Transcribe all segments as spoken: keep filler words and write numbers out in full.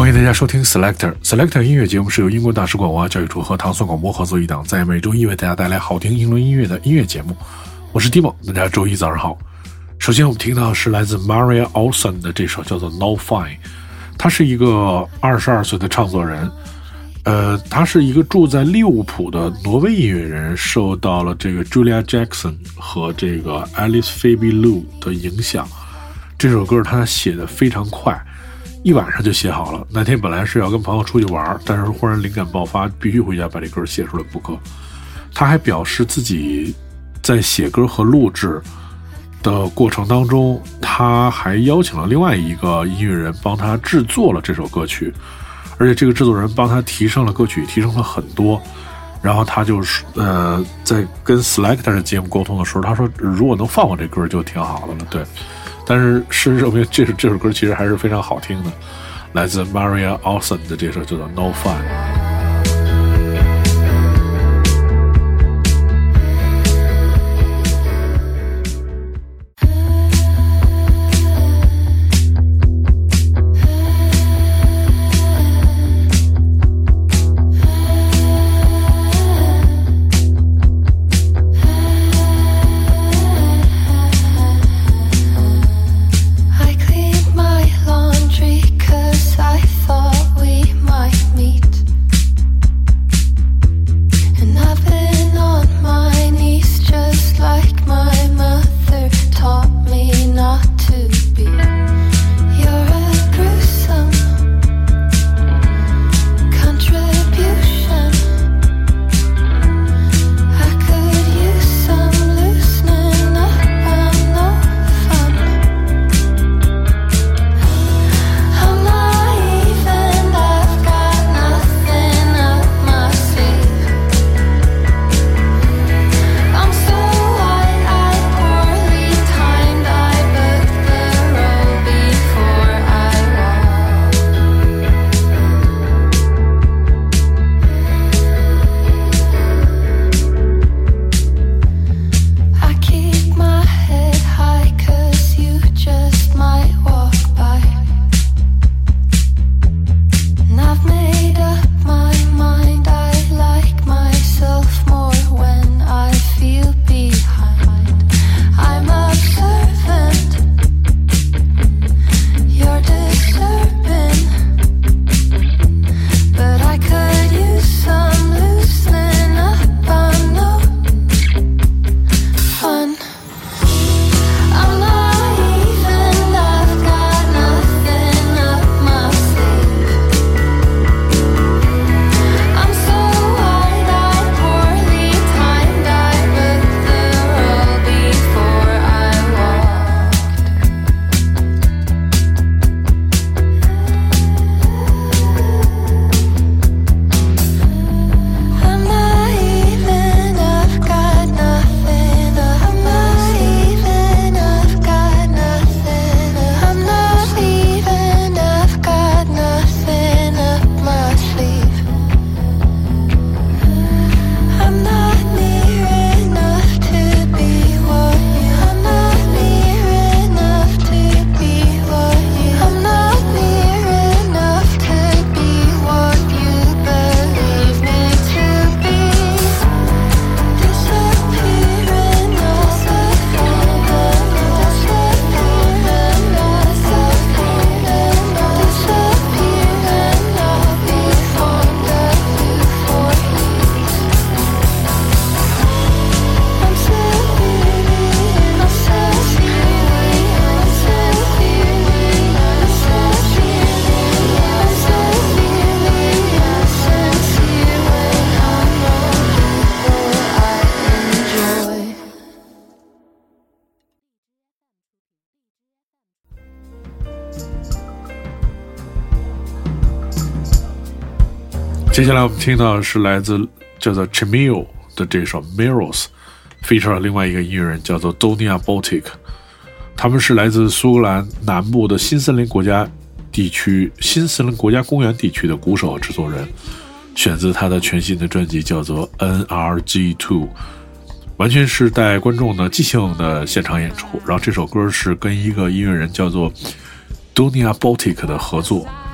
欢迎大家收听 Selector Selector 音乐节目，是由英国大使馆文化教育处和唐宋广播合作一档，在每周一为大家带来好听英伦音乐的音乐节目。我是 Timo， 大家周一早上好。首先我们听到的是来自 Maria Olsen 的这首叫做 No Fine。 他是一个二十二岁的唱作人，呃，他是一个住在利物浦的挪威音乐人，受到了这个 Julia Jackson 和这个 Alice Phoebe Lou 的影响。这首歌他写的非常快，一晚上就写好了。那天本来是要跟朋友出去玩，但是忽然灵感爆发，必须回家把这歌写出来不可。他还表示自己在写歌和录制的过程当中，他还邀请了另外一个音乐人帮他制作了这首歌曲，而且这个制作人帮他提升了歌曲，提升了很多。然后他就是呃，在跟 Selector 的节目沟通的时候，他说如果能放过这歌就挺好的了。对，但是事实证明这这首歌其实还是非常好听的，来自 Maria Olsen 的这首叫做 No Fun。接下来我们听到的是来自叫做 Chimio 的这首 Mirrors， feature 了另外一个音乐人叫做 Donia Baltic。 他们是来自苏格兰南部的新森林国家地区新森林国家公园地区的鼓手和制作人，选自他的全新的专辑叫做 N R G 二， 完全是带观众的即兴的现场演出。然后这首歌是跟一个音乐人叫做 Donia Baltic 的合作，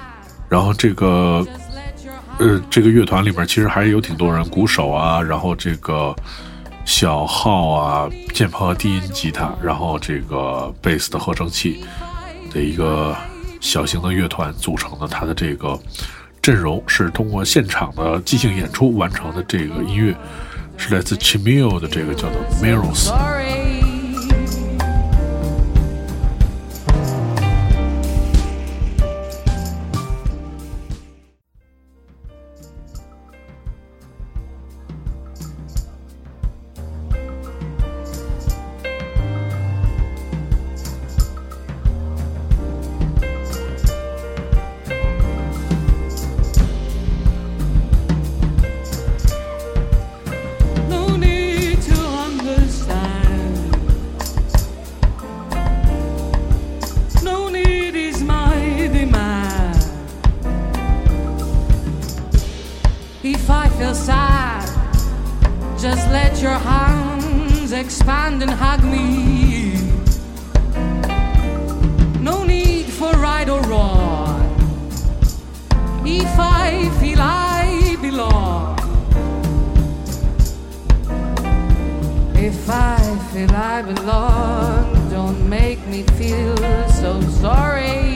然后这个呃这个乐团里面其实还是有挺多人，鼓手啊，然后这个小号啊，键盘和低音吉他，然后这个贝斯的合成器的一个小型的乐团组成的。它的这个阵容是通过现场的即兴演出完成的。这个音乐是来自 Chimio 的这个叫做 Mirrors。 If I feel sad, just let your hands expand and hug me. No need for right or wrong. If I feel I belong, if I feel I belong, don't make me feel so sorry.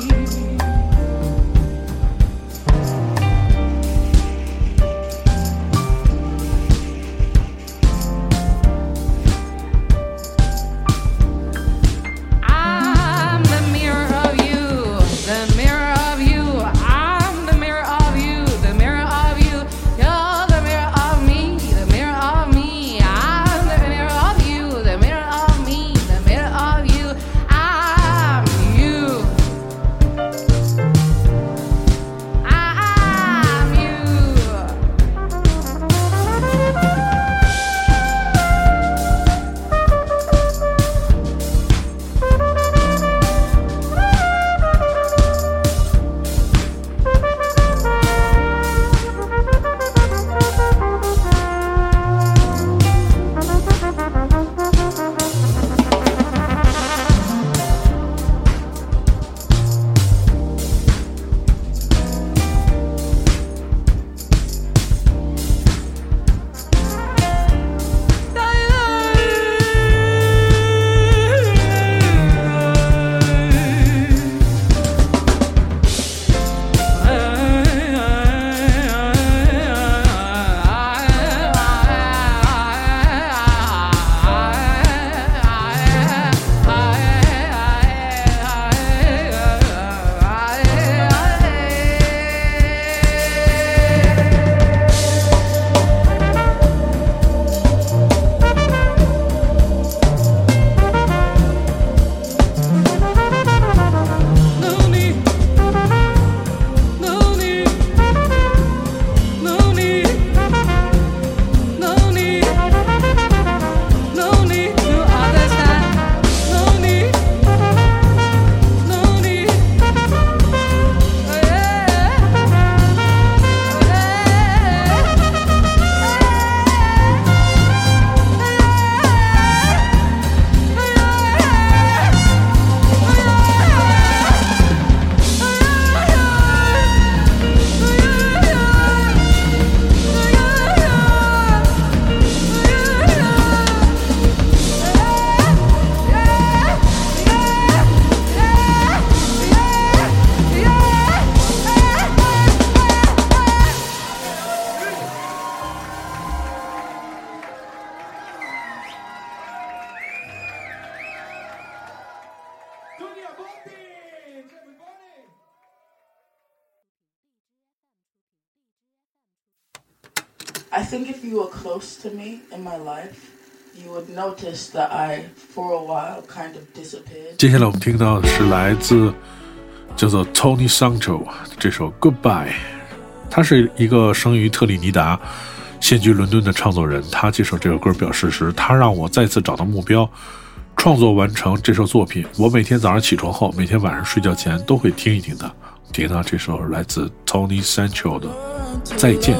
I think if you were close to me in my life, you would notice that I, for a while, kind of disappeared. 接下来我们听到的是来自叫做 Tony Sancho 这首 Goodbye。他是一个生于特立尼达、现居伦敦的唱作人。他接受这首歌表示时，他让我再次找到目标，创作完成这首作品。我每天早上起床后，每天晚上睡觉前都会听一听它。听到这首来自 Tony Sancho 的再见。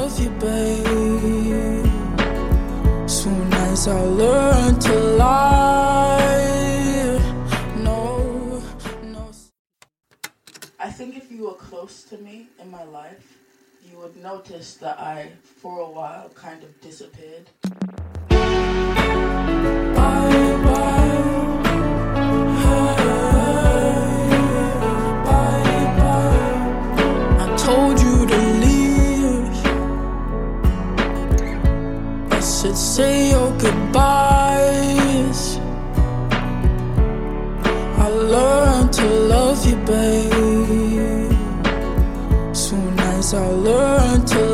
Soon as I learn to lie, no, no. I think if you were close to me in my life, you would notice that I, for a while, kind of disappeared. Bye, bye. Told you to leave. I said say your goodbyes. I learned to love you, babe. Soon as I learned to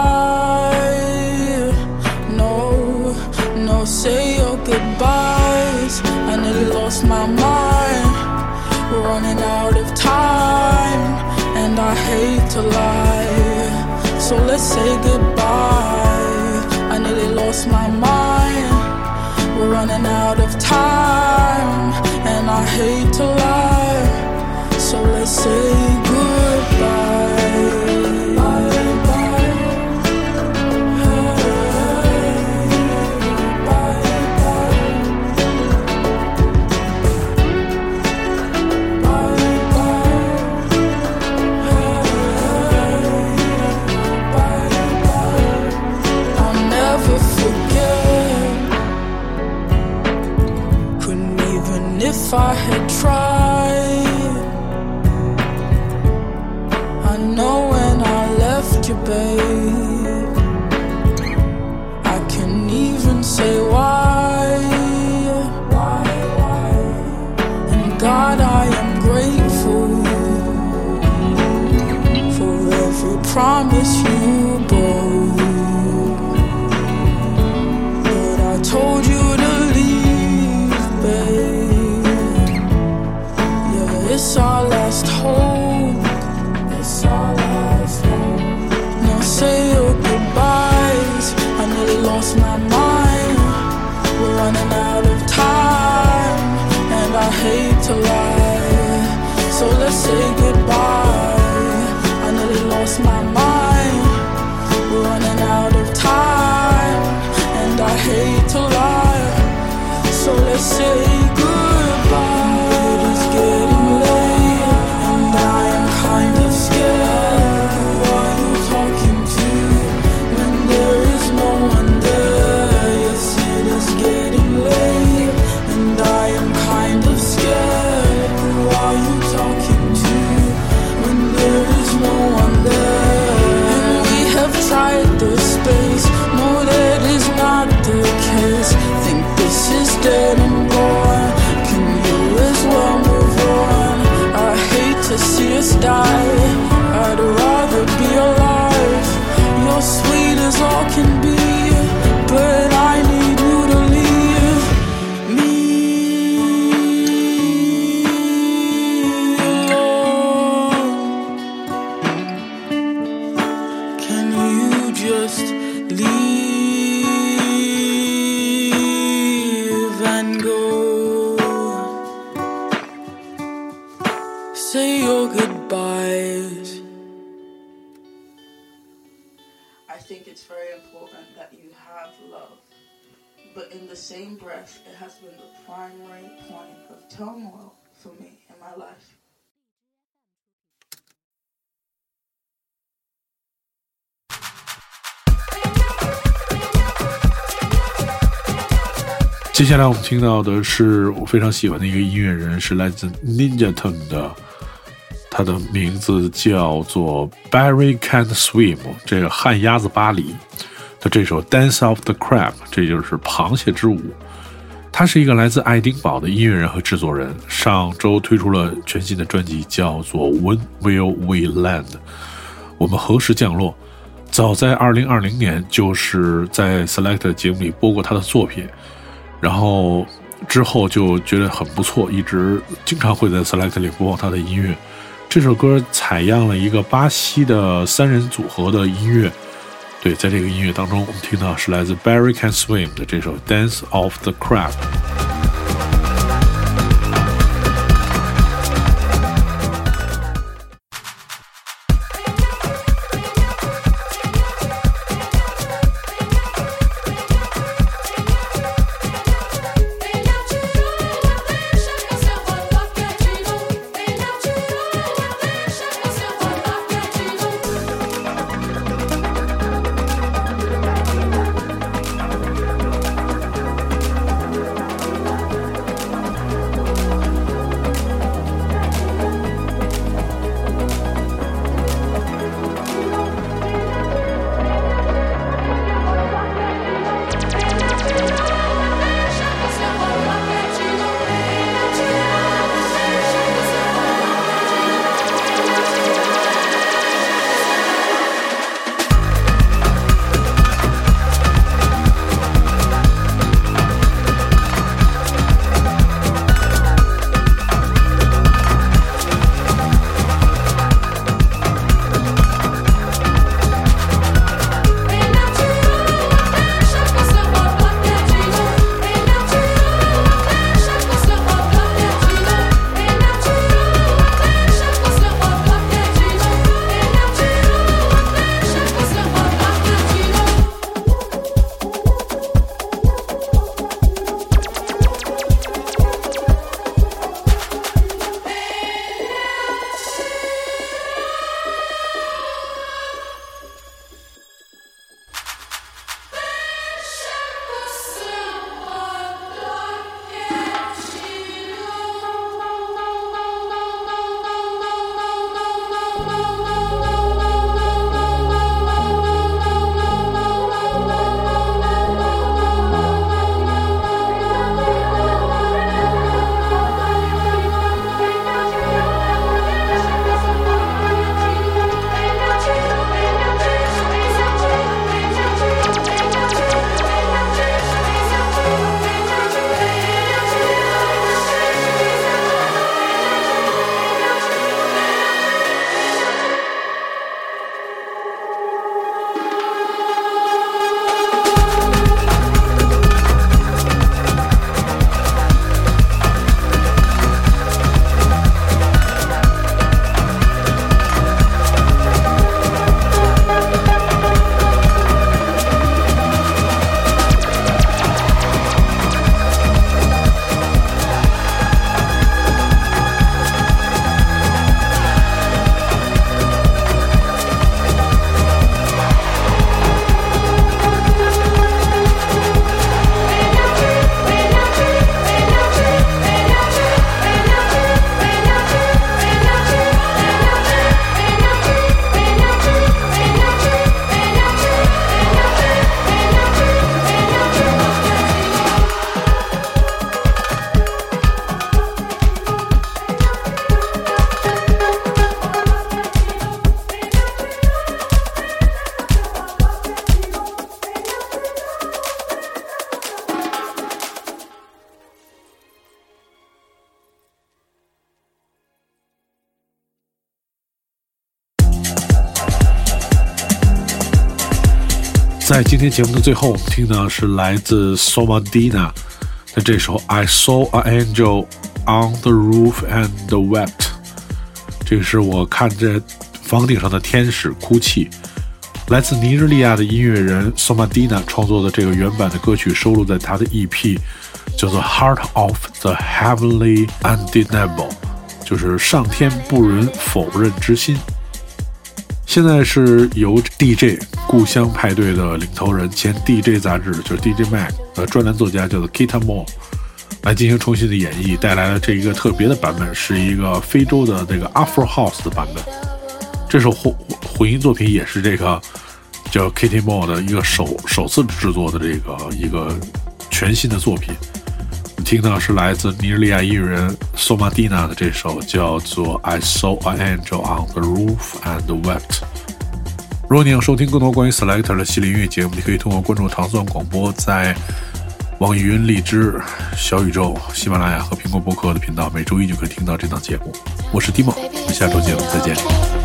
lie. No, no, say your goodbyes. I nearly lost my mind. We're running out of time. And I hate to lie, so let's say goodbye. I nearly lost my mind. We're running out of time. And I hate to lie, so let's say goodbye. If I had tried, I know when I left you, babe, I can even say why, why, why. And God, I am grateful for every promise you broke. But I told you to leave, babe. It's our last hope. It's our last hope. Now say your goodbyes. I nearly lost my mind. We're running out of time. And I hate to lie, so let's say goodbye. I nearly lost my mind. We're running out of time. And I hate to lie, so let's say goodbye. It is getting dead and gone. Can you as well move on? I hate to see us die. I'd rather be alive. You're sweet as all can be, but I need you to leave me alone. Can you just leave? Say your goodbyes. I think it's very important that you have love, but in the same breath, it has been the primary point of turmoil for me in my life. 接下来我们听到的是我非常喜欢的一个音乐人，是来自 Ninja Tune 的，他的名字叫做 Barry Can't Swim， 这个旱鸭子巴黎的这首 Dance of the Crab， 这就是螃蟹之舞。他是一个来自爱丁堡的音乐人和制作人，上周推出了全新的专辑，叫做 When Will We Land， 我们何时降落。早在二零二零年就是在 Select 节目里播过他的作品，然后之后就觉得很不错，一直经常会在 Select 里播放他的音乐。这首歌采样了一个巴西的三人组合的音乐，对，在这个音乐当中我们听到是来自 Barry Can Swim 的这首 Dance of the Crab。 在今天节目的最后，我们听到是来自 Somadina 的这首 I Saw an Angel on the Roof and Wept。 这个是我看着房顶上的天使哭泣。来自尼日利亚的音乐人 Somadina 创作的这个原版的歌曲收录在他的 E P 叫做 Heart of the Heavenly Undeniable， 就是上天不容否认之心。现在是由 D J 故乡派对的领头人，前 D J 杂志就是 D J Mag 的专栏作家叫做 Kita Moore 来进行重新的演绎，带来了这一个特别的版本，是一个非洲的这个 Afro House 的版本。这首混混音作品也是这个叫 Kita Moore 的一个首首次制作的这个一个全新的作品。听到是来自尼日利亚音乐人 Somadina 的这首叫做 I Saw an Angel on the Roof and Wept。 如果你想收听更多关于 Selector 的系列音乐节目，你可以通过关注糖蒜广播在网易云、荔枝、小宇宙、喜马拉雅和苹果播客的频道，每周一就可以听到这档节目。我是 Timo， 我们下周节目再见。